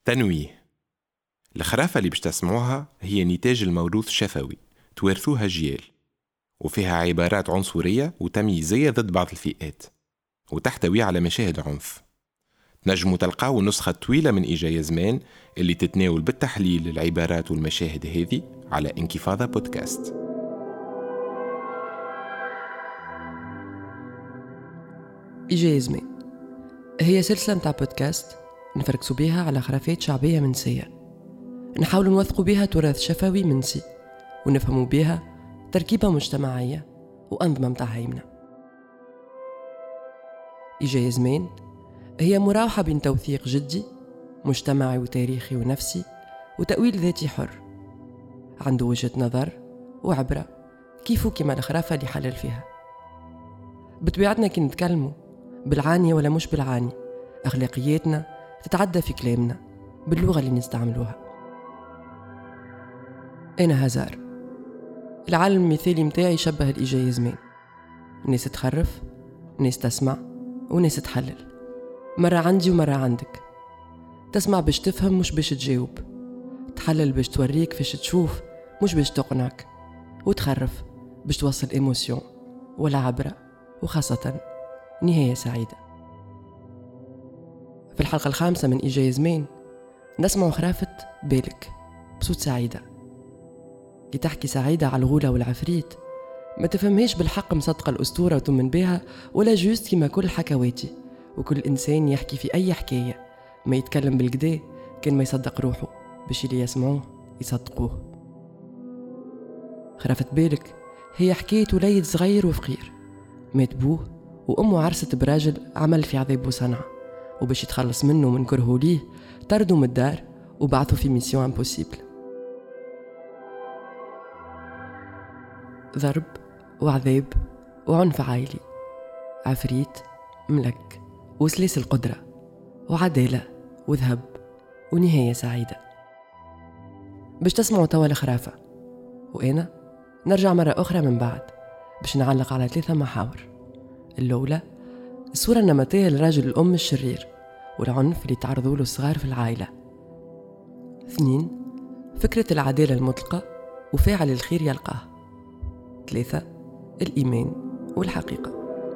تنويه. الخرافة اللي باش تسمعوها هي نتاج الموروث الشفوي توارثوها جيال، وفيها عبارات عنصرية وتمييزية ضد بعض الفئات، وتحتوي على مشاهد عنف. نجموا تلقاو النسخة الطويلة من إيجا يا زمان اللي تتناول بالتحليل العبارات والمشاهد هذه على انكفاضة بودكاست. إيجا يا زمان هي سلسلة متاع بودكاست نفركسوا بيها على خرافات شعبية منسية، نحاولوا نوثقوا بيها تراث شفوي منسي، ونفهموا بيها تركيبة مجتمعية وأنظمة متاع هيمنة. إيجا يا زمان هي مراوحة بين توثيق جدي مجتمعي وتاريخي ونفسي وتأويل ذاتي حر، عنده وجهة نظر وعبرة كيفو كما الخرافة اللي حلل فيها. بطبيعتنا كي نتكلموا بالعاني ولا مش بالعاني، أخلاقياتنا تتعدى في كلامنا باللغة اللي نستعملوها. أنا هزار، العالم المثالي متاعي يشبه الإيجا يا زمان، ناس تخرف، ناس تسمع، وناس تحلل، مرة عندي ومرة عندك. تسمع باش تفهم مش باش تجاوب، تحلل باش توريك فاش تشوف مش باش تقنعك، وتخرف باش توصل إيموسيون ولا عبرة، وخاصة نهاية سعيدة. في الحلقة 5 من إيجا يا زمان نسمع خرافة بالك بصوت سعيدة. كي تحكي سعيدة على الغولة والعفريت ما تفهمهاش بالحق مصدقة الأسطورة وتؤمن بها، ولا جوست كما كل حكواتي وكل إنسان يحكي في أي حكاية ما يتكلم بالكدا كان ما يصدق روحه باش اللي يسمعوه يصدقوه. خرافة بالك هي حكاية وليد صغير وفقير مات بوه وأمه عرست براجل عمل في عذاب وصنعة، وباش يتخلص منه من كرهه ليه طردوا من الدار وبعثوا في ميسيون امبوسيبل. ضرب وعذاب وعنف عائلي، عفريت، ملك، وسلاسل قدرة، وعدالة وذهب، ونهاية سعيدة. باش تسمعوا توا الخرافة، وأنا نرجع مرة أخرى من بعد باش نعلق على 3 محاور. الأولى الصورة النمطية للرجل الأم الشرير والعنف اللي تعرضوا له الصغار في العائلة. 2 فكرة العدالة المطلقة وفاعل الخير يلقاه. 3 الإيمان والحقيقة.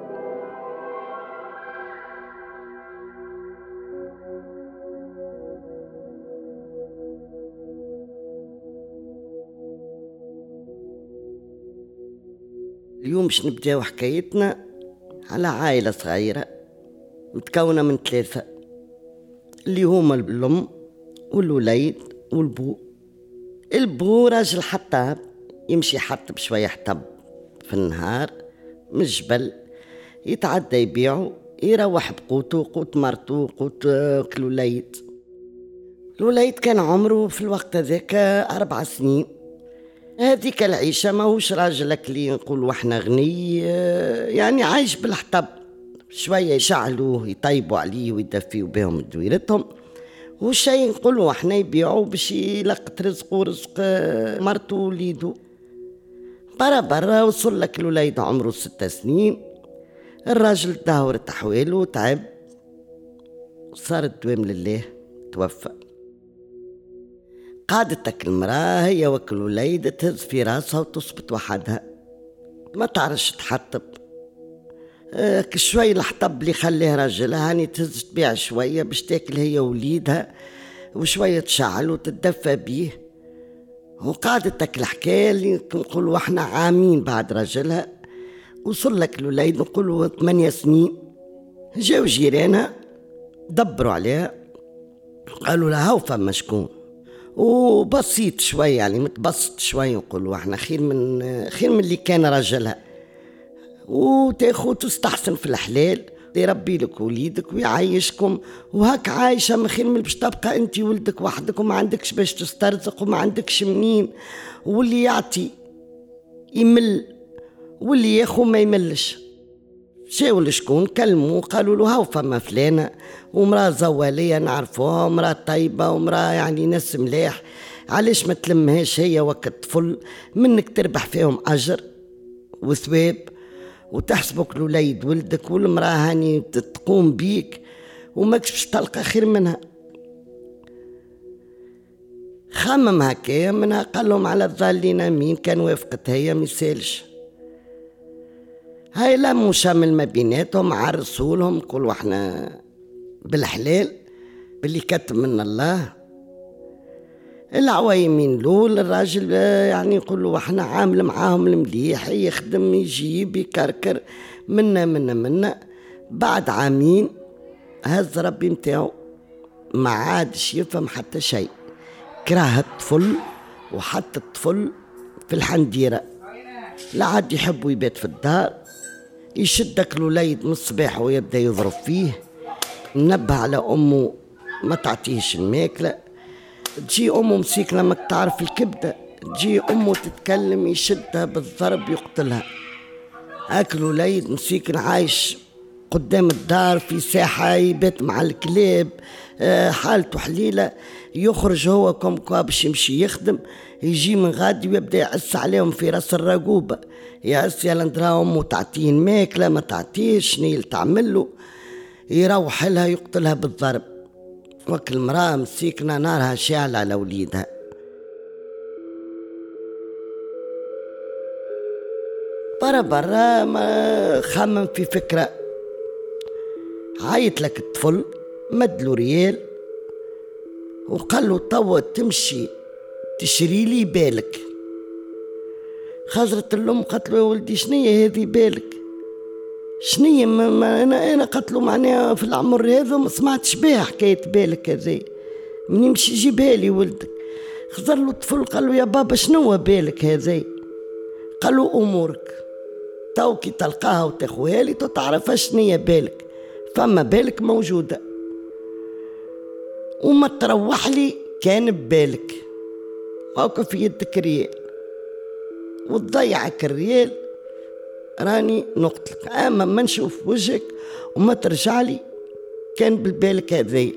اليوم باش نبداو حكايتنا على عائلة صغيرة متكونة من 3 اللي هما الأم والوليد والبو. البو راجل حطاب يمشي يحطب شوية حطب في النهار من الجبل، يتعدى يبيعه يروح بقوته، قوت مرتو، قوت الوليد. الوليد كان عمره في الوقت هذاك 4 سنين. هذيك العيشة ماهوش راجلك اللي نقولوا احنا غني، يعني عايش بالحطب، شوية يشعلوه يطيبوا عليه ويدفيوا بهم دويرتهم، وشي نقولوا احنا يبيعوا باش يلقط رزقه ورزق مرته ووليده. برا وصل لك الوليد عمره 6 سنين، الراجل دهورت أحواله تعب، صار الدوام لله، توفى. قعدتك المرأة هي وكل الوليد تهز في راسها وتصبت وحدها، ما تعرفش تحطب. شوي الحطب اللي خليه راجلها هاني تهز تبيع شوية باش تاكل هي ووليدها، وشوية تشعل وتتدفى بيه. وقعدتك الحكاية اللي نقولوا احنا عامين بعد راجلها. وصل لك الوليد نقولوا 8 سنين، جاو جيرانها دبروا عليها قالوا لها هاو فما شكون، وبسيط شوي يعني متبسط شوي، نقولوا احنا خير من اللي كان راجلها، وتاخذ تستحسن في الحلال يربي لك وليدك ويعيشكم، وهاك عايشه من خير من باش تبقى انت ولدك وحدك وما عندكش باش تسترزق وما عندكش منين، واللي يعطي يمل واللي ياخو ما يملش. جاو لشكون كلموا قالوا له هاو فما فلانه ومراه زواليه نعرفوها ومراه طيبه ومراه يعني ناس ملاح، علاش ما تلمهاش هي وقت طفل منك تربح فيهم اجر وثواب وتحسبك الوليد ولدك والمراه هاني تقوم بيك وماكش باش تلقى خير منها. خمم هكايا منها قال لهم على الظالين مين كان وافقت هي ميسالش. هاي لموا شامل ما بيناتهم عرسوا لهم قولوا احنا بالحلال باللي كتب من الله. العوايمين لول الراجل يعني يقولوا احنا عامل معاهم المليح يخدم يجيب يكركر منا. بعد عامين هز ربي متاعو ما عادش يفهم حتى شيء، كره الطفل وحط الطفل في الحنديرة، لا عاد يحب يبات في الدار، يشدك الوليد من الصباح ويبدا يضرب فيه، منبه على امه ما تعطيهش الماكله، تجي امه مسيكنه ما تعرف الكبده، تجي امه تتكلم يشدها بالضرب يقتلها. هاك الوليد مسيكن عايش قدام الدار في ساحه يبات مع الكلاب، حالته حليله، يخرج هو كوم باش يمشي يخدم، يجي من غادي ويبدا يعس عليهم في راس الرقوبه، يعس يا لندراهم وتعطيه الماكله ما تعطيش شنو تعمل له، يروح لها يقتلها بالضرب. وكل المراه مسيكنه نارها شاعله على وليدها. برا ما خمم في فكره، عيط لك الطفل مدلو ريال وقال له توا تمشي تشري لي بالك. خزرت الام قالت له يا ولدي شنية هذه بالك؟ شنية ما انا قالت له معناها في العمر هذا ما سمعتش بها حكاية بالك هذه، من يمشي يجيبها لي ولدك. خزر له الطفل قال له يا بابا شنو بالك هذه؟ قال له امورك تو كي تلقاها وتاخوها لي تعرفها شنية بالك، فما بالك موجودة وما تروح لي كان ببالك هاكا في يدك ريال وتضيعك الريال راني نقتلك، اما ما نشوف وجهك وما ترجع لي كان بالبالك هذي.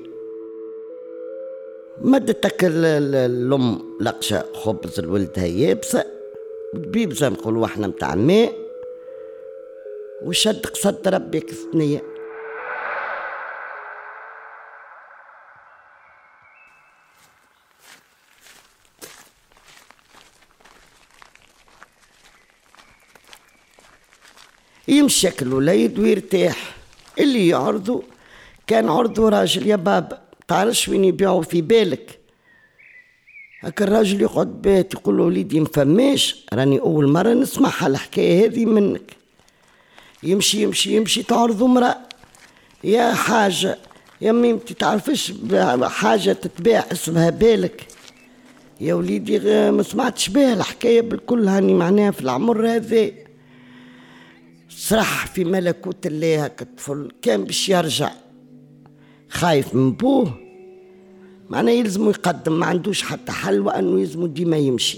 مدتك الام لقشة خبز الولدها يابسة بيبزة نقولوا احنا متاع ماء وشد قصد ربك الثنية. يمشي الوليد ويرتاح. اللي يعرضوا كان عرضوا راجل يا بابا تعرفش وين يبيعوا في بالك. هكا الراجل يقعد بيت يقول له وليدي مفماش، راني اول مره نسمعها الحكايه هذه منك. يمشي تعرضوا امراه يا حاجه يا ميمتي تعرفش حاجه تتباع اسمها بالك؟ يا وليدي ما سمعتش بها الحكايه بالكل، هاني معناها في العمر هذا. صرح في ملكوت الله هكا الطفل كان باش يرجع خايف من بوه، معناه يلزمو يقدم ما عندوش حتى حل وانه يلزمو ديما يمشي.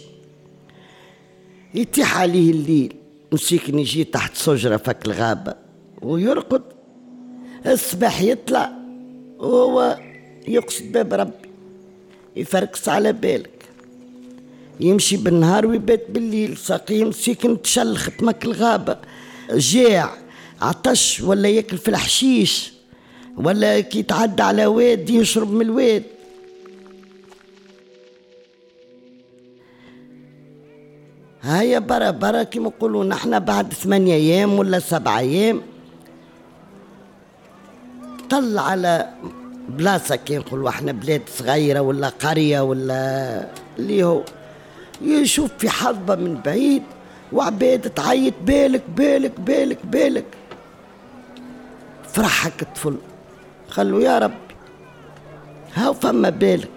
يتيح عليه الليل مسيكن يجي تحت شجرة فك الغابة ويرقد، الصباح يطلع وهو يقصد باب ربي يفركس على بالك، يمشي بالنهار ويبات بالليل. ساقيه مسيكن تشلخ تمك الغابة جاع عطش ولا ياكل في الحشيش ولا كي يتعدى على واد يشرب من الواد. هيا برا كيما نقولوا نحنا بعد 8 أيام ولا 7 أيام طلع على بلاصة كي نقولوا احنا بلاد صغيرة ولا قرية ولا اللي هو يشوف في حظبة من بعيد وعباد تعيط بالك بالك بالك بالك. فرح هك الطفل خلو يا ربي هاو فما بالك.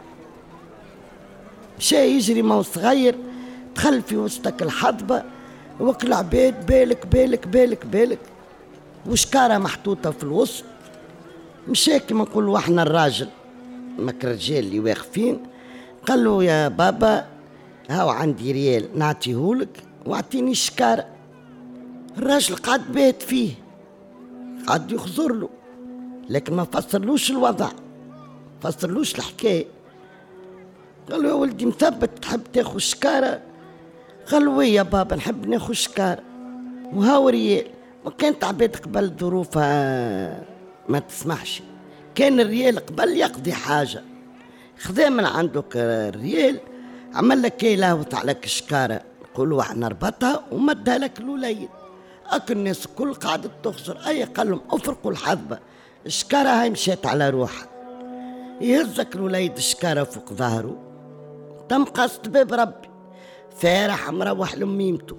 مشى يجري ما هو صغير دخل في وسطك الحظبة وكل عباد بالك بالك بالك بالك وشكارة محطوطة في الوسط. مشى كيما نقولوا احنا الراجل ماك الرجال اللي واقفين قال له يا بابا هاو عندي ريال نعطيهولك واعطيني الشكارة. الراجل قعد بيت فيه قعد يخزر له لكن ما فسرلوش الوضع فسرلوش الحكاية. قال له يا ولدي مثبت تحب تاخذ شكارة؟ قال له يا بابا نحب ناخذ شكارة وهاو ريال. وكانت عباد قبل ظروفها ما تسمحش، كان الريال قبل يقضي حاجة خذا من عندك الريال، عمل لك لهوت على كشكارة، قولوا احنا ربطها ومدها لك الوليد. اكل الناس الكل قاعدة تخسر، اي قال لهم افرقوا الحظبة، الشكارة هاي مشيت على روحها. يهزك الوليد الشكارة فوق ظهره، تم قصد باب ربي، فارح مروح لميمته.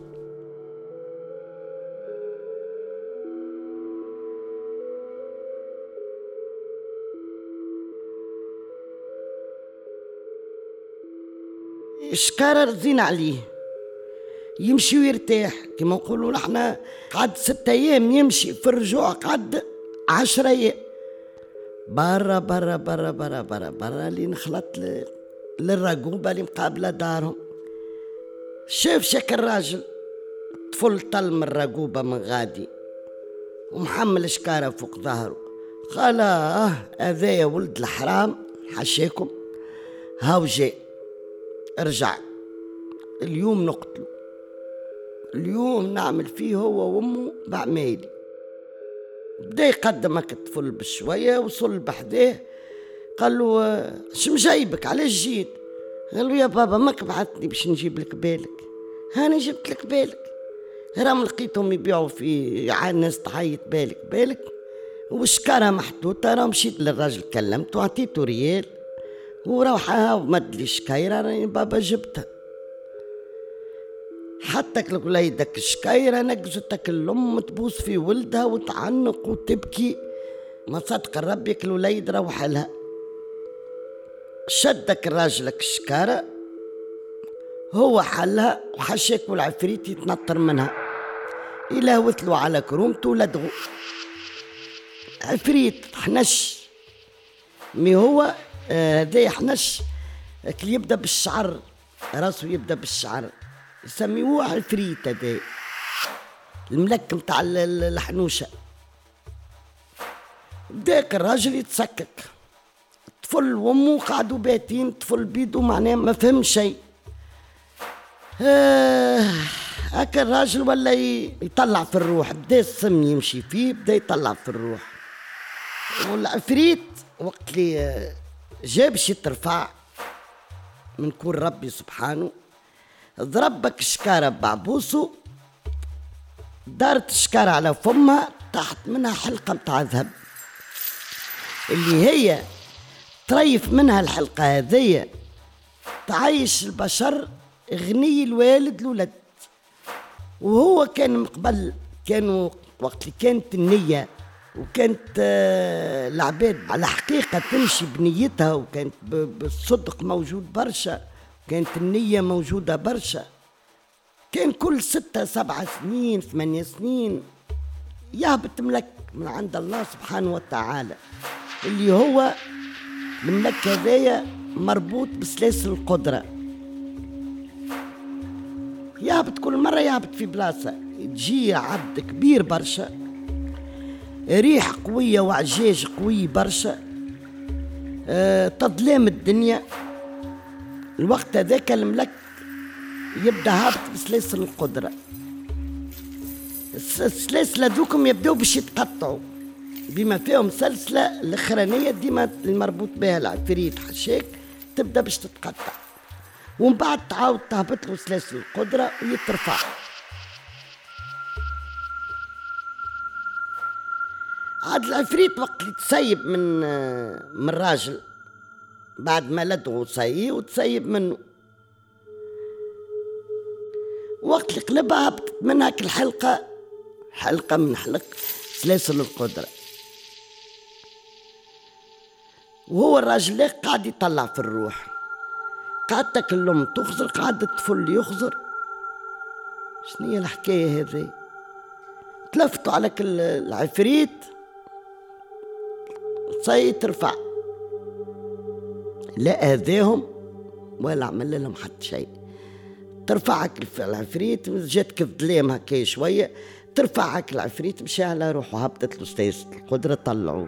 الشكارة رزين عليه، يمشي ويرتاح كما نقولوا نحنا. قعد 6 أيام يمشي، في الرجوع قعد 10 أيام. برا برا برا برا برا برا لين خلط للرقوبة اللي مقابلة دارهم. شاف شكل راجل طفل طل من الرقوبة من غادي ومحمل شكارة فوق ظهره. قال هذايا ولد الحرام حشاكم، هاو جاء ارجع اليوم نقتله، اليوم نعمل فيه هو وامه بعمالي. بدا يقدمك الطفل بشوية، وصل بحداه قال له شم جايبك علاش جيت؟ قال له يا بابا ماك بعثني باش نجيب لك بالك، هاني جبت لك بالك، راهم لقيتهم يبيعوا في الناس تعيط بالك بالك وشكارة محطوطة. راه مشيت للراجل كلمته وعطيته ريال وروحها ومد لي شكايرة راني بابا جبتها. حتى وليدك الشكايرة نقزتك الأم تبوس في ولدها وتعنق وتبكي، ما صدق ربي الوليد روح لها. شدك الراجلك الشكارة هو حلها وحشاك والعفريت يتنطر منها، إلا وثلوا على كرومته ولدغوا عفريت حنش. مي هو هذا يحنش اللي يبدا بالشعر، راسه يبدا بالشعر، يسميوه عفريت. هذا الملك متاع الحنوشه. بداك الراجل يتسكك، الطفل وامه قعدوا باتين، الطفل بيدو معناه ما فهم شيء. هكا الراجل ولا يطلع في الروح، بدا السم يمشي فيه، بدا يطلع في الروح. والعفريت وقت اللي جاب شي ترفع من كون ربي سبحانه، ضربك الشكارة بعبوسه، دارت الشكارة على فمها، تحت منها حلقة متاع ذهب اللي هي طريف منها الحلقة هذية تعيش البشر غني الوالد الولد. وهو كان من قبل، كانوا وقت اللي كانت النية وكانت العباد على حقيقة تمشي بنيتها، وكانت بالصدق موجود برشا، كانت النية موجودة برشا. كان كل 6 7 سنين 8 سنين يهبط ملك من عند الله سبحانه وتعالى، اللي هو الملك هذايا مربوط بسلاسل القدرة. يهبط كل مرة، يهبط في بلاصة، تجي عبد كبير برشا، ريح قوية وعجاج قوي برشا، تظلام الدنيا. الوقت هذاك الملك يبدا هابط بسلاسل القدرة. السلاسل هذوكم يبداو باش يتقطعوا، بما فيهم سلسلة الأخرانية ديما المربوط بها العفريت حشاك تبدا باش تتقطع، ومن بعد تعاود تهبط له سلاسل القدرة ويترفع. عاد العفريت وقت اللي تسيب من الراجل بعد ما لدغوا صايي وتسيب منه، وقت اللي قلبها هبطت منها الحلقة، حلقة من حلق سلاسل القدرة. وهو الراجل قاعد يطلع في الروح، قعدتك الأم تخزر، قعد الطفل يخزر. شنو هي الحكاية هذه؟ تلفتوا عليك العفريت صاي ترفع، لا أذاهم ولا عمل لهم حتى شيء. ترفعك العفريت، جاتك الظلام هكا شوية، ترفعك العفريت مشى على روحه، هبطت له سلاسل القدرة، طلعوه.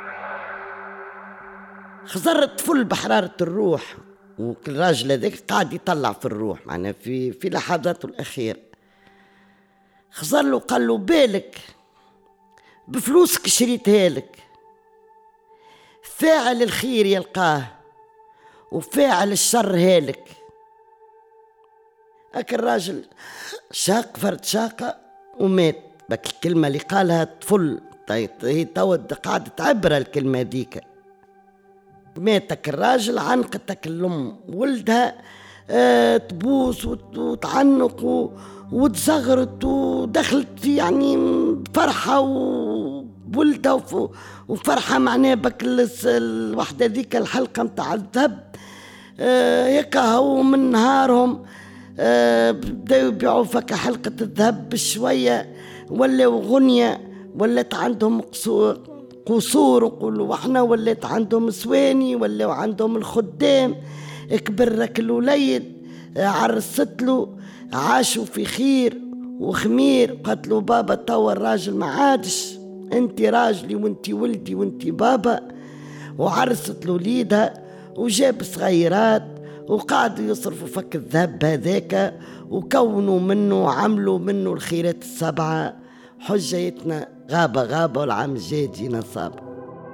خزر الطفل بحرارة الروح، والراجل هذاك قاعد يطلع في الروح معناه في لحظاته الأخيرة. خزر له قال له بالك بفلوسك شريتها لك، فاعل الخير يلقاه وفاعل الشر هالك. هاك الراجل شاق فرد شاقة ومات. بك الكلمة اللي قالها طفل، هي تود قاعدة عبرة الكلمة ديك. ماتك الراجل، عنقتك الأم ولدها تبوس وتعنق وتزغرت ودخلت يعني فرحة وولدها وفرحة معناه بك الوحدة ذيك الحلقة متاع الذهب. يكهو من نهارهم بداو يبيعوا فك حلقة الذهب بشوية، ولاو غنية، ولات عندهم قصور وقولوا وحنا، ولات عندهم سواني، ولاو عندهم الخدام. كبرك الوليد عرست له، عاشوا في خير وخمير. قالت له بابا توا الراجل ما عادش، انت راجلي وانت ولدي وانت بابا. وعرست له ليدها وجاب صغيرات وقعدوا يصرفوا فك الذهب هذاك وكونوا منه وعملوا منه الخيرات السبعة. حجيتنا غابة غابة والعام الجاي جينا صابة.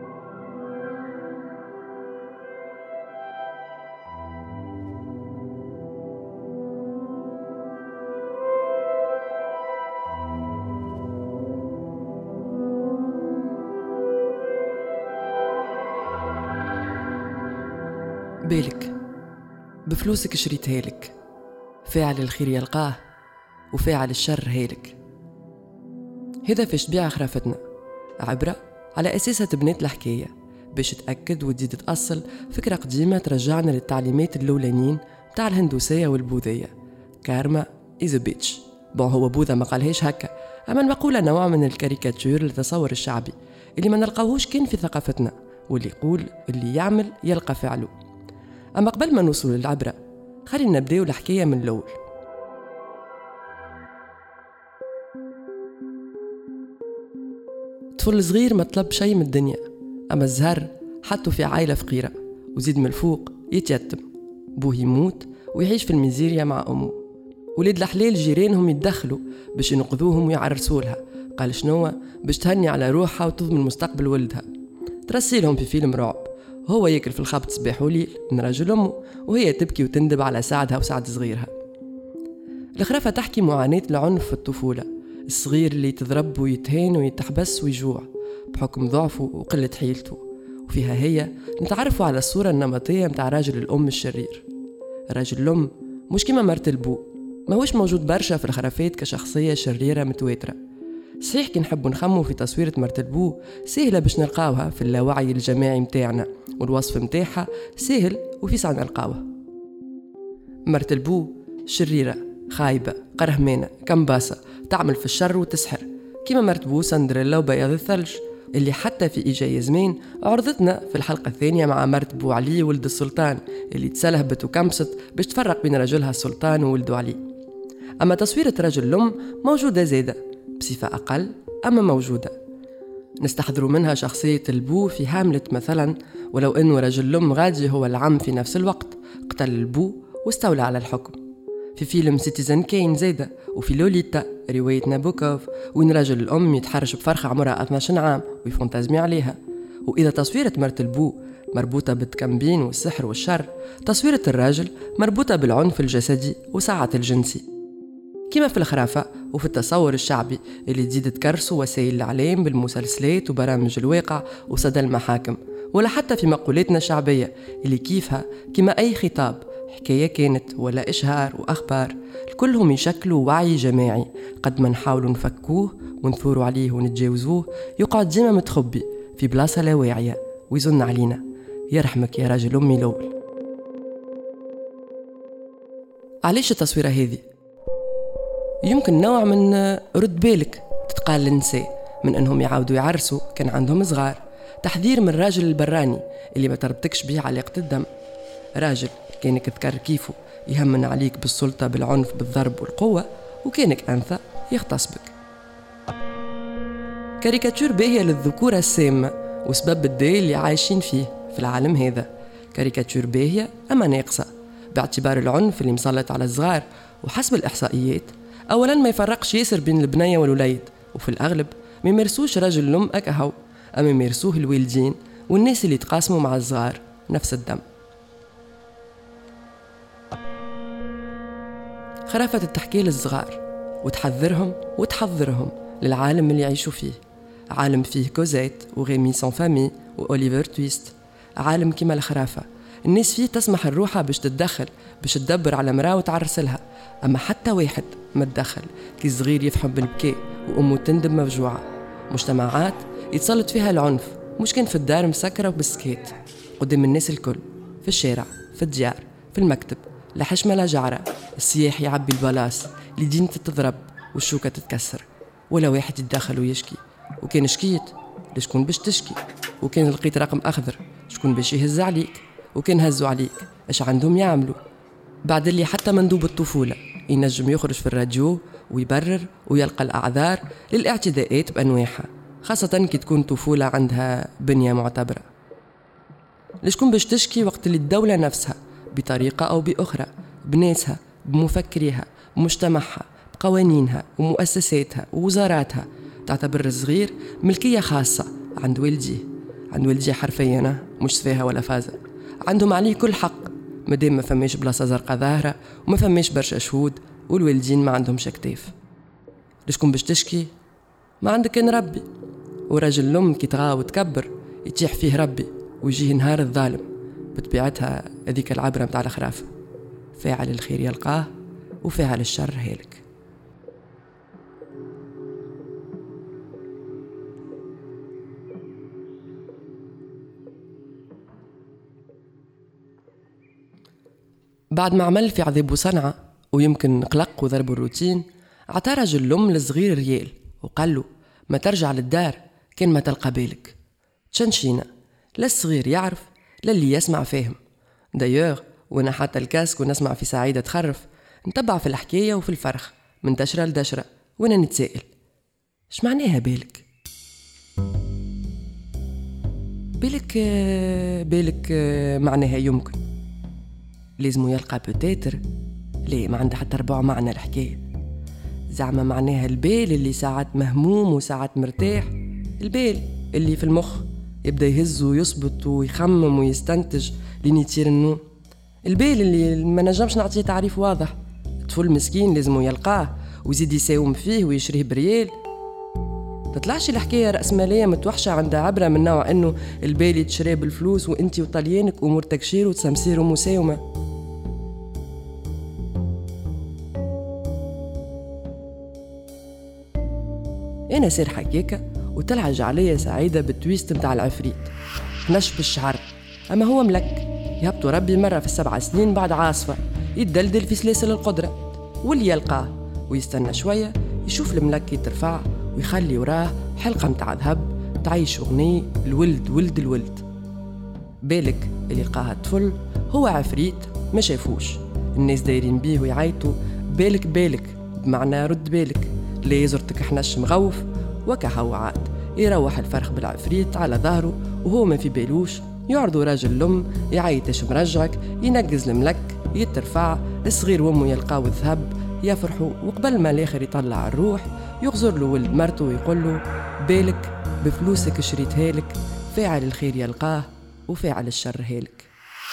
بالك بفلوسك شريتها لك، فاعل الخير يلقاه وفاعل الشر هالك. هذا فاش تبيع خرافتنا، عبرة على أساسها تبنيت الحكاية باش تأكد وتزيد تأصل فكرة قديمة ترجعنا للتعليمات الأولانيين متاع الهندوسية والبوذية. كارما إز بيتش. هو بوذا ما قالهاش هكا، أما المقولة نوع من الكاريكاتير للتصور الشعبي اللي ما نلقاوهوش كان في ثقافتنا، واللي يقول اللي يعمل يلقى فعله. أما قبل ما نوصل للعبرة خلينا نبداو الحكاية من الأول. طفل صغير ما طلب شيء من الدنيا، أما الزهر حطه في عائلة فقيرة وزيد من الفوق يتيتم، بوه يموت ويعيش في الميزيريا مع أمه. ولاد الحلال جيرانهم يتدخلوا باش ينقذوهم ويعرسولها. قال شنو؟ باش تهني على روحها وتضمن مستقبل ولدها. ترسيلهم في فيلم رعب، هو ياكل في الخبط صباح وليل من راجل أمه، وهي تبكي وتندب على سعدها وسعد صغيرها. الخرافة تحكي معاناة العنف في الطفولة، الصغير اللي يتضرب ويتهان ويتحبس ويجوع بحكم ضعفه وقلة حيلته. وفيها هي نتعرفوا على الصورة النمطية متاع راجل الأم الشرير. راجل الأم مش كما مرت البو، ما هوش موجود برشا في الخرافات كشخصية شريرة متواترة. صحيح كي نحبوا نخموا في تصويرة مرت البو سهلة باش نلقاوها في اللاوعي الجماعي متاعنا، والوصف متاعها سهل وفي ساعة نلقاوها. مرت البو شريرة، خايبة، قرهمانة، كمباسة، تعمل في الشر وتسحر، كيما مرت بو سندريلا وبياض الثلج اللي حتى في إيجاي زمان عرضتنا في الحلقة الثانية مع مرت بو علي ولد السلطان اللي تسلهبت وكمست باش تفرق بين رجلها السلطان وولده علي. أما تصويرة رجل الأم موجودة زادة بصفة أقل، أما موجودة. نستحضروا منها شخصية البو في هاملت مثلا، ولو أنه رجل الأم غادي هو العم في نفس الوقت، قتل البو واستولى على الحكم. في فيلم سيتيزن كين زادة، وفي لوليتا رواية نابوكوف وين رجل الأم يتحرش بفرخة عمرها 12 عام ويفونتازمي عليها. وإذا تصويرة مرت البو مربوطة بالتكمبين والسحر والشر، تصويرة الراجل مربوطة بالعنف الجسدي وساعة الجنسي، كما في الخرافة وفي التصور الشعبي اللي تزيد تكرسوا وسائل الإعلام بالمسلسلات وبرامج الواقع وصدى المحاكم، ولا حتى في مقولاتنا الشعبية اللي كيفها كما أي خطاب، حكاية كانت ولا إشهار وأخبار، كلهم يشكلوا وعي جماعي قد ما نحاولوا نفكوه ونثوروا عليه ونتجاوزوه يقعد ديما متخبي في بلاصة لا واعية ويزن علينا. يرحمك يا راجل أمي الأول. علاش التصويرة هذه؟ يمكن نوع من رد بالك تتقال للنساء من أنهم يعاودوا يعرسوا كان عندهم صغار، تحذير من الراجل البراني اللي ما تربطكش بيه علاقة الدم، راجل كانك تذكر كيفه يهمن عليك بالسلطة بالعنف بالضرب والقوة، وكانك أنثى يغتص بك. كاريكاتير باهية للذكورة السامة وسبب الداي اللي عايشين فيه في العالم هذا. كاريكاتير باهية أما ناقصة باعتبار العنف اللي مسلط على الصغار، وحسب الإحصائيات أولا ما يفرقش ياسر بين البنية والوليد، وفي الأغلب ما يمارسوش راجل الأم أكهو، أما يمارسوه الوالدين والناس اللي يتقاسموا مع الصغار نفس الدم. خرافة تحكي للصغار وتحذرهم وتحضرهم للعالم اللي يعيشوا فيه، عالم فيه كوزيت وغيمي سون فامي وأوليفر تويست، عالم كما الخرافة الناس فيه تسمح الروحة باش تتدخل، باش تدبر على مراه وتعرسلها، أما حتى واحد ما تدخل كي صغير يفحم بالبكاء وأمه تندم مفجوعة. مجتمعات يتسلط فيها العنف، مش كان في الدار مسكرة وبالسكيت قدام الناس الكل، في الشارع، في الديار، في المكتب، لا حشمة لا جعرة، السياح يعبي البلاص، اليدين تتضرب والشوكة تتكسر، ولا واحد يتدخل ويشكي. وكان شكيت لشكون باش تشكي، وكان لقيت رقم أخضر شكون باش يهز عليك، وكان هزوا عليك اش عندهم يعملوا. بعد اللي حتى مندوب الطفولة ينجم يخرج في الراديو ويبرر ويلقى الأعذار للاعتداءات بأنواعها، خاصة كي تكون طفولة عندها بنية معتبرة. لشكون باش تشكي وقت اللي الدولة نفسها بطريقة أو بأخرى بناسها بمفكريها بمجتمعها بقوانينها ومؤسساتها ووزاراتها تعتبر الصغير ملكية خاصة عند والديه حرفيا، مش سفاهة ولا فازة، عندهم عليه كل حق مادام ما فماش بلاصة زرقاء ظاهرة وما فماش برشا شهود والوالدين ما عندهمش كتاف. لشكون باش تشكي؟ ما عندك كان ربي، ورجل الأم كي تغاو وتكبر يتيح فيه ربي ويجيه نهار الظالم. بطبيعتها هذيك العبرة متاع الخرافة، فاعل الخير يلقاه وفاعل الشر هالك. بعد ما عمل في عذاب وصنعة ويمكن قلق وضرب الروتين، عطى رجل الأم للصغير ريال وقال له ما ترجع للدار كان ما تلقى بالك. تشنشينا لا الصغير يعرف لا اللي يسمع فاهم. دايوغ وانا حتى الكاسك ونسمع في سعيدة تخرف نتبع في الحكاية وفي الفرخ من دشرة لدشرة وانا نتسائل اش معناها بالك؟ بالك معناها يمكن، لازم يلقى بوتيتر، ليه ما عنده حتى ربع معنى الحكاية. زعما معناها البال اللي ساعات مهموم وساعات مرتاح، البال اللي في المخ يبدأ يهز ويصبط ويخمم ويستنتج لين يطير النوم، البال اللي ما نجمش نعطيه تعريف واضح. الطفل مسكين لازم يلقاه ويزيد يساوم فيه ويشريه بريال. تطلعش الحكاية رأسمالية متوحشة عندها عبرة من نوع انه البال يتشري بالفلوس وانتي وطليانك امورتك شير وتسمسير ومساومة. انا سير حكيكة وتلعج عليا سعيدة بالتويست متاع العفريت نشف الشعر، اما هو ملك يهبطوا ربي مرة في 7 سنين بعد عاصفة يتدلدل في سلاسل القدرة، واللي يلقاه ويستنى شوية يشوف الملك يترفع ويخلي وراه حلقة متاع ذهب تعيش أغنية الولد ولد الولد. بالك اللي لقاها الطفل هو عفريت ما شافوش، الناس دايرين بيه ويعيطوا بالك بمعنى رد بالك، ليه زرتك حنش مغوف وكهو عاد يروح الفرخ بالعفريت على ظهره وهو ما في بالوش. يعرضوا راجل الأم يعيطش مرجعك ينقز الملك يترفع الصغير وامه يلقاو الذهب يفرحوا، وقبل ما الاخر يطلع الروح يغزر له ولد مرته ويقول له بالك بفلوسك شريتها لك، فاعل الخير يلقاه وفاعل الشر هالك.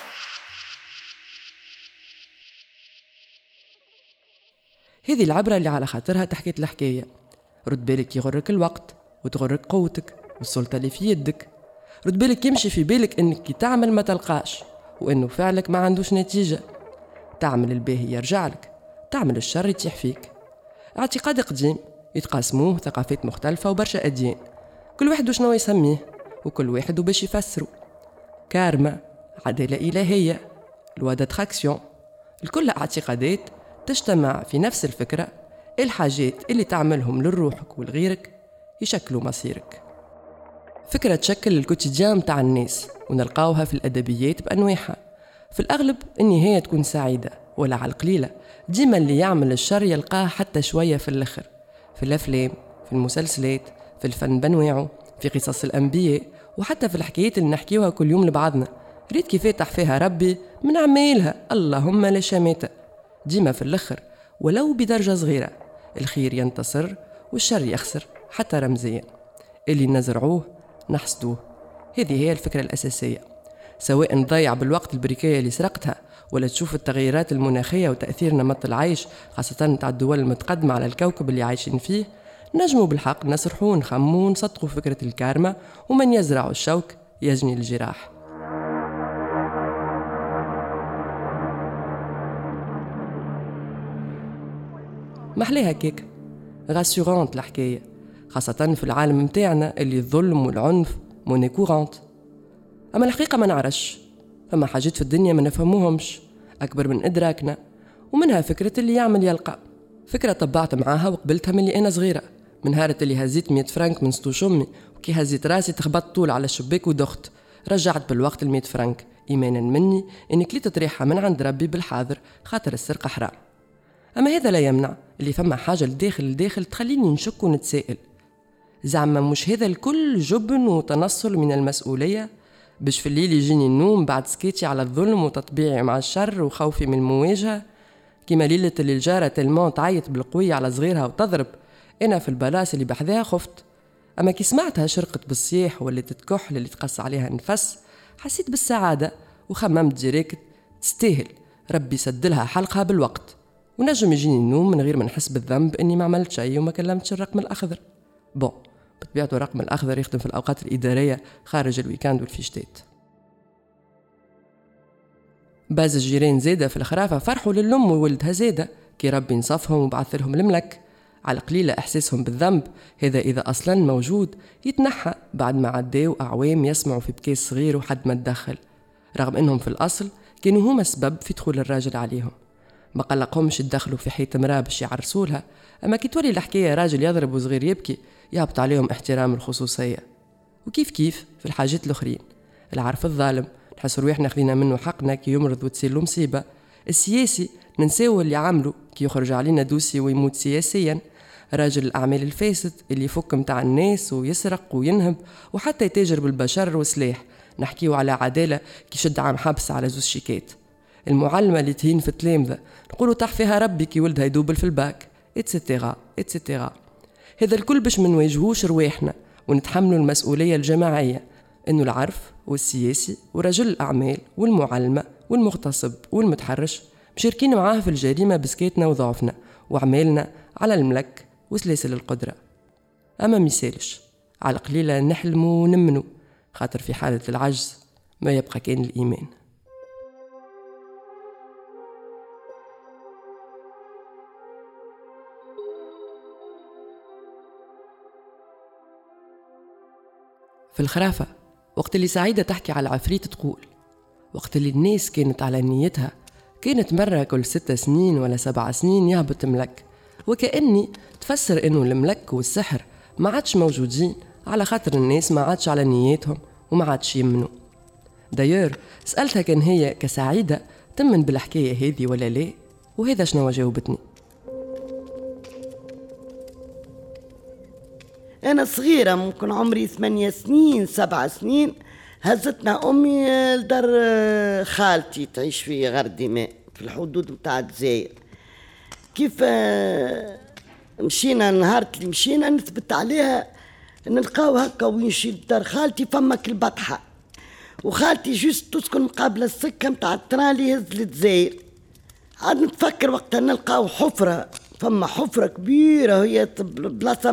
هذه العبرة اللي على خاطرها تحكيت الحكاية. رد بالك يغرك الوقت وتغرك قوتك والسلطة اللي في يدك. رد بالك يمشي في بالك انك كي تعمل ما تلقاش وانه فعلك ما عندوش نتيجة. تعمل الباهي يرجع لك، تعمل الشر يتيح فيك. اعتقاد قديم يتقاسموه ثقافات مختلفة وبرشا أديان، كل واحد وشنو يسميه وكل واحد وباش يفسره. كارما، عدالة إلهية، لوا داتراكسيون، الكل اعتقادات تجتمع في نفس الفكرة، الحاجات اللي تعملهم لروحك ولغيرك يشكلوا مصيرك. فكرة تشكل الكوتيديان متاع الناس ونلقاوها في الأدبيات بأنواعها. في الأغلب النهاية تكون سعيدة، ولا على القليلة ديما اللي يعمل الشر يلقاه حتى شوية في الآخر، في الأفلام، في المسلسلات، في الفن بنواعه، في قصص الأنبياء، وحتى في الحكايات اللي نحكيوها كل يوم لبعضنا. ريت كيف يفتح فيها ربي من عمايلها اللهم لا شماتة. ديما في الآخر ولو بدرجة صغيرة الخير ينتصر والشر يخسر حتى رمزيا. اللي نزرعوه نحصدوه، هذه هي الفكرة الأساسية. سواء نضيع بالوقت البريكية اللي سرقتها ولا تشوف التغيرات المناخية وتأثير نمط العيش خاصة متاع الدول المتقدمة على الكوكب اللي عايشين فيه، نجموا بالحق نسرحوا ونخموا ونصدقوا فكرة الكارما، ومن يزرع الشوك يجني الجراح. محليها كيك غاسيورانت الحكاية، خاصة في العالم متاعنا اللي الظلم والعنف موني كورانت. أما الحقيقة ما نعرفش، فما حاجات في الدنيا ما نفهموهمش أكبر من إدراكنا، ومنها فكرة اللي يعمل يلقى. فكرة طبعت معاها وقبلتها من اللي أنا صغيرة، من هارة اللي هزيت 100 فرنك من سطوش أمي، وكي هزيت راسي تخبط طول على الشباك ودخت، رجعت بالوقت 100 فرنك إيمانا مني إني كليت ريحة من عند ربي بالحاضر، خاطر السرقة حرام. أما هذا لا يمنع اللي فما حاجة لداخل تخليني نشك ونتسائل، زعما مش هذا الكل جبن وتنصل من المسؤولية باش في الليل يجيني النوم بعد سكيتي على الظلم وتطبيعي مع الشر وخوفي من المواجهة، كما ليلة اللي الجارة تلمون تعيط بالقوية على صغيرها وتضرب، أنا في البلاس اللي بحذاها خفت. أما كي سمعتها شرقت بالصياح واللي تتكحل اللي تقص عليها نفس، حسيت بالسعادة وخممت ديريكت تستاهل، ربي سدلها حلقها بالوقت، ونجم يجيني النوم من غير ما نحس بالذنب إني ما عملت شيء وما كلمتش الرقم الأخضر. بطبيعته الرقم الأخضر يخدم في الأوقات الإدارية خارج الويكاند والفيشتات. باز الجيران زيدة في الخرافة فرحوا للأم وولدها زيدة كي ربي نصفهم وبعث لهم الملك، على قليلة إحساسهم بالذنب هذا إذا أصلا موجود يتنحى بعد ما عداو أعوام يسمعوا في بكاس صغير وحد ما تدخل، رغم إنهم في الأصل كانوا هما السبب في دخول الراجل عليهم. ما قلقهمش يدخلوا في حيط مراه باش يعرسولها، أما كي تولي الحكاية راجل يضرب وصغير يبكي يهبط عليهم احترام الخصوصية. وكيف كيف في الحاجات الأخرين، العرف الظالم نحس روحنا خذينا منه حقنا كي يمرض وتصير له مصيبة، السياسي ننساو اللي عمله كي يخرج علينا دوسي ويموت سياسيا، راجل الأعمال الفاسد اللي يفك متاع الناس ويسرق وينهب وحتى يتاجر بالبشر وسلاح، نحكيو على عدالة كي شد عام حبس على 2 شيكات، المعلمة اللي تهين في التلامذة نقولوا تحفيها ربي كي ولدها يدوبل في الباك اتستيغا اتستيغا. هذا الكل باش من واجهوش رواحنا ونتحملوا المسؤولية الجماعية، إنه العرف والسياسي ورجل الأعمال والمعلمة والمغتصب والمتحرش مشاركين معاه في الجريمة بسكيتنا وضعفنا وعمالنا على الملك وسلاسل القدرة. أما ميسالش على قليلة نحلموا ونمنوا، خاطر في حالة العجز ما يبقى كان الإيمان. في الخرافة وقت اللي سعيدة تحكي على العفريت تقول، وقت اللي الناس كانت على نيتها كانت مرة كل 6 سنين ولا 7 سنين يهبط ملك، وكأني تفسر إنه الملك والسحر ما عادش موجودين على خاطر الناس ما عادش على نياتهم وما عادش يمنوا. داير سألتها كان هي كسعيدة تمن بالحكاية هذه ولا لا، وهذا شنو جاوبتني. أنا صغيرة ممكن عمري 8 سنين 7 سنين، هزتنا أمي لدار خالتي تعيش في غردماء في الحدود متاع الجزائر. كيف مشينا نهار اللي مشينا نثبت عليها نلقاو هكا وينشي لدار خالتي فما كالبطحة، وخالتي جوست تسكن مقابل السكة متاع التران اللي يهز للجزائر. عاد نتفكر وقتها نلقاو حفرة، فما حفرة كبيرة هي بلاصة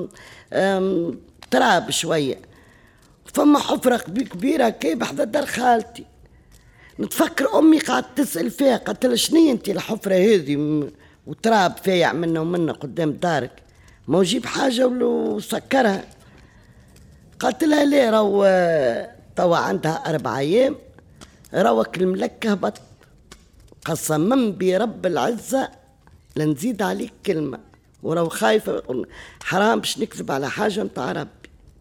تراب شوية، فما حفرة كبيرة كي بحذا دار خالتي. نتفكر أمي قاعد تسأل فيها، قالت لها شنية انتي الحفرة هذه وتراب فايع منا ومنا قدام دارك، ما وجيب حاجة وسكرها. قالت لها ليه، رو توا عندها 4 أيام روك الملك هبط، قسما برب العزة لنزيد عليك كلمة، ورو خايفة حرام باش نكذب على حاجة متاع ربي.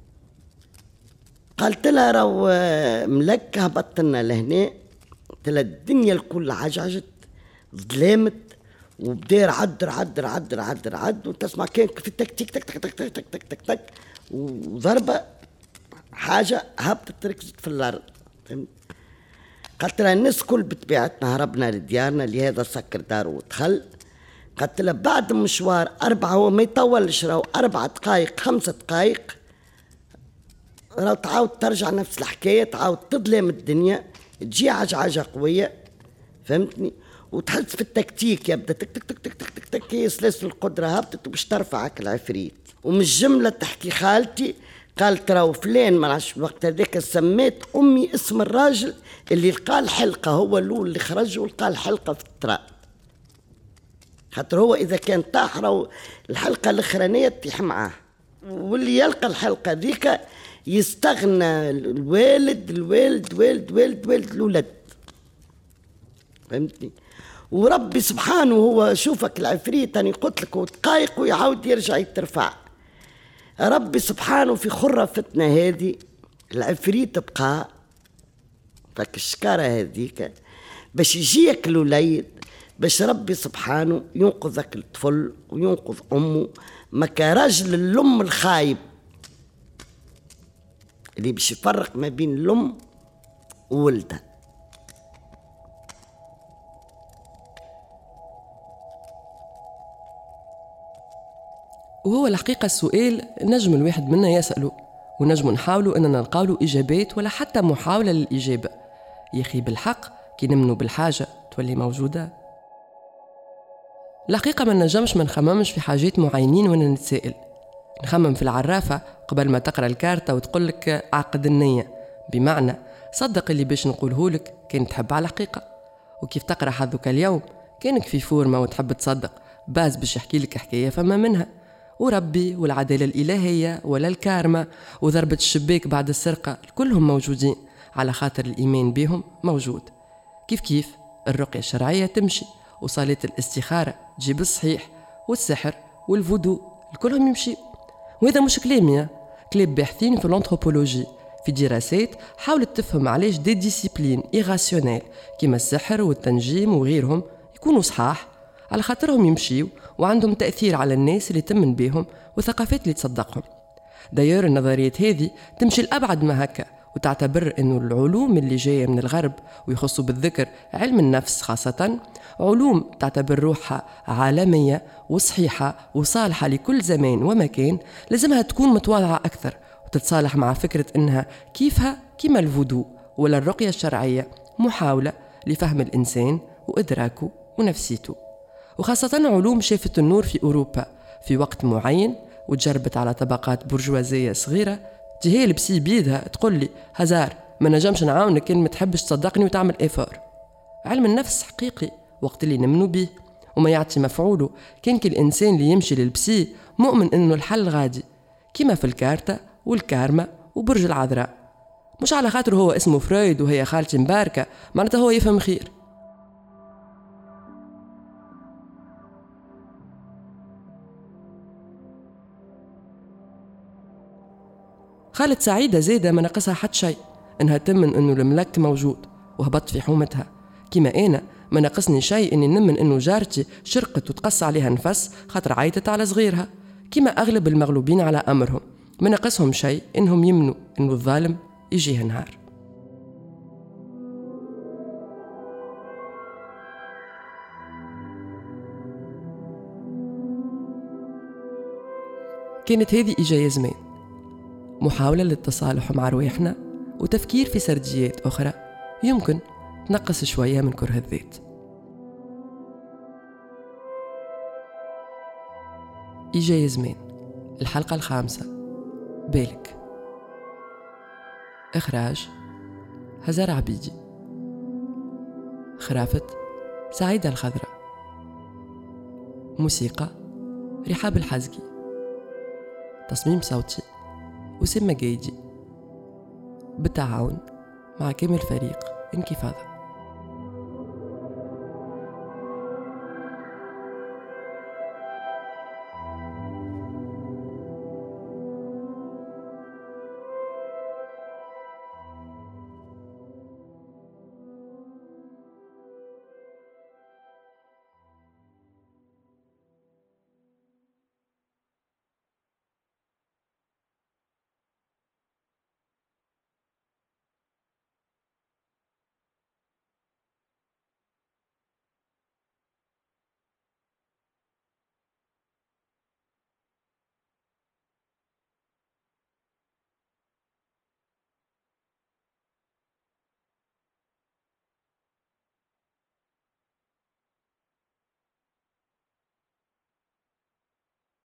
قالت لها رو ملك هبط لنا لهنا، قلت لها الدنيا الكل عجعجت ظلامت وبدير عدر وتسمع كان في تك تك تك تك تك تك تك تك تك تك وضربة حاجة هبطت ركزت في الأرض. قالت لها الناس كل بطبيعتنا هربنا لديارنا، لهذا سكر دار ودخل. قالت لها بعد مشوار 4 هو ما يطولش، راهو 4 دقايق 5 دقايق راهو تعاود ترجع نفس الحكاية، تعاود تظلم الدنيا. تجي عجعجة قوية، فهمتني، وتحس في التكتيك يبدا تك تك تك تك تك تك تك، هي سلاسل القدرة هبطت وباش ترفعك العفريت. ومن الجملة تحكي خالتي قالت راهو فلان ما نعرفش الوقت هذاك سميت امي اسم الراجل اللي لقى الحلقه، هو الاول اللي خرج ولقى الحلقه في التراب، خاطر هو اذا كان طاح راهو الحلقه الاخرانيه تطيح معاه، واللي يلقى الحلقه ذيك يستغنى الوالد الوالد والد والد والد الولد، فهمتني. وربي سبحانه هو شوفك العفريت أنا قلت لك وتقايق ويعاود يرجع يترفع، ربي سبحانه في خرة فتنة هذه العفريت بقى فك الشكارة هذيك باش يجيك الوليد، باش ربي سبحانه ينقذك الطفل وينقذ أمه، ما كراجل الأم الخايب اللي باش يفرق ما بين الأم وولدها. وهو الحقيقة السؤال نجم الواحد منا يسأله، ونجم نحاولوا أننا نلقاولوا إجابات ولا حتى محاولة للإجابة. يخي بالحق كي نمنوا بالحاجة تولي موجودة. الحقيقة ما نجمش ما نخممش في حاجات معينين وانا نتسائل. نخمم في العرافة قبل ما تقرأ الكارتة وتقولك عقد النية، بمعنى صدق اللي باش نقولهولك كان تحب على الحقيقة. وكيف تقرأ حظك اليوم كانك في فورمة وتحب تصدق باز باش يحكي لك حكاية فما منها، وربي والعدالة الإلهية ولا الكارما وضربة الشباك بعد السرقة كلهم موجودين على خاطر الإيمان بهم موجود. كيف الرقية الشرعية تمشي، وصلاة الاستخارة تجيب الصحيح، والسحر والفودو كلهم يمشي. وهذا مش كلامي، كلام باحثين في الانثروبولوجي في دراسات حاولت تفهم علاش دي ديسيبلين إيغاسيونيل كما السحر والتنجيم وغيرهم يكونوا صحاح، على خاطرهم يمشيوا وعندهم تأثير على الناس اللي تمن بهم وثقافات اللي تصدقهم. داير النظريات هذه تمشي الأبعد ما هكا، وتعتبر أنه العلوم اللي جاية من الغرب ويخصوا بالذكر علم النفس خاصة، علوم تعتبر روحها عالمية وصحيحة وصالحة لكل زمان ومكان، لازمها تكون متواضعة أكثر وتتصالح مع فكرة أنها كيفها كما الفودو ولا الرقية الشرعية محاولة لفهم الإنسان وإدراكه ونفسيته. وخاصة علوم شافت النور في أوروبا في وقت معين وتجربت على طبقات برجوازية صغيرة، تجي هي لبسي بيدها تقول لي هزار ما نجمش نعاونك كان ما تحبش تصدقني وتعمل إيفور. علم النفس حقيقي وقت اللي نمنوا به وما يعطي مفعوله، كان الإنسان اللي يمشي للبسي مؤمن إنه الحل غادي، كما في الكارتة والكارما وبرج العذراء. مش على خاطر هو اسمه فرويد وهي خالتي مباركة معناتها هو يفهم خير. خالد سعيدة زيدة ما نقصها حد شيء، انها تمن انه الملك موجود وهبط في حومتها، كما انا ما نقصني شيء اني نمن انه جارتي شرقت وتقص عليها نفس خاطر عيطت على صغيرها، كما اغلب المغلوبين على امرهم ما نقصهم شيء انهم يمنوا انه الظالم يجيه نهار. كانت هذه إجاية زمان، محاولة للتصالح مع رواحنا وتفكير في سرديات أخرى يمكن تنقص شوية من كره الذات. إجاية زمان، الحلقة 5. بالك. إخراج هزار عبيدي. خرافة سعيدة الخضراء. موسيقى رحاب الحزقي. تصميم صوتي أسامة جايدي بالتعاون مع كامل فريق انكفاضة.